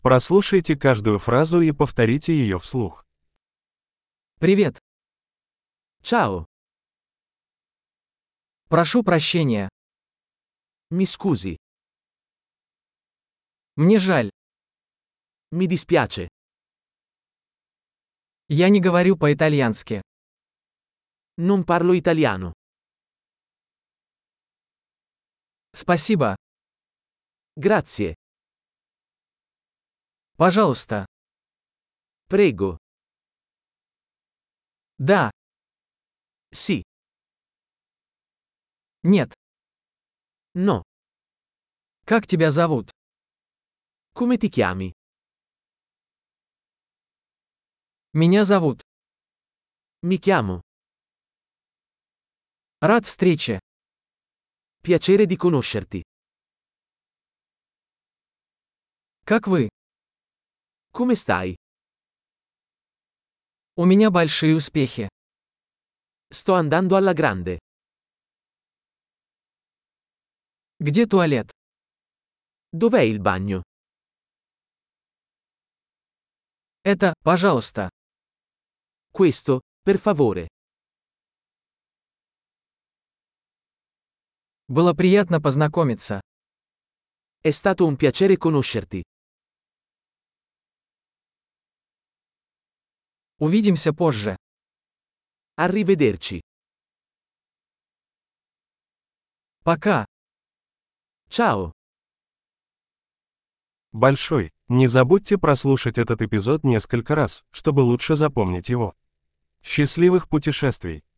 Прослушайте каждую фразу и повторите ее вслух. Привет. Ciao, Прошу прощения. mi scusi, Мне жаль. mi dispiace, Я не говорю по-итальянски. non parlo italiano. Спасибо. Grazie, Пожалуйста. prego, Да. sì, Нет. no. Как тебя зовут? Come ti chiami? Меня зовут. Mi chiamo. Рад встрече. Piacere di conoscerti. Как вы? Come stai? У меня большие успехи. Sto andando alla grande. Где туалет? Dov'è il bagno? Это, пожалуйста. Questo, per favore. Было приятно познакомиться. È stato un piacere conoscerti. Увидимся позже. Arrivederci. Пока. Ciao. Большой. Не забудьте прослушать этот эпизод несколько раз, чтобы лучше запомнить его. Счастливых путешествий!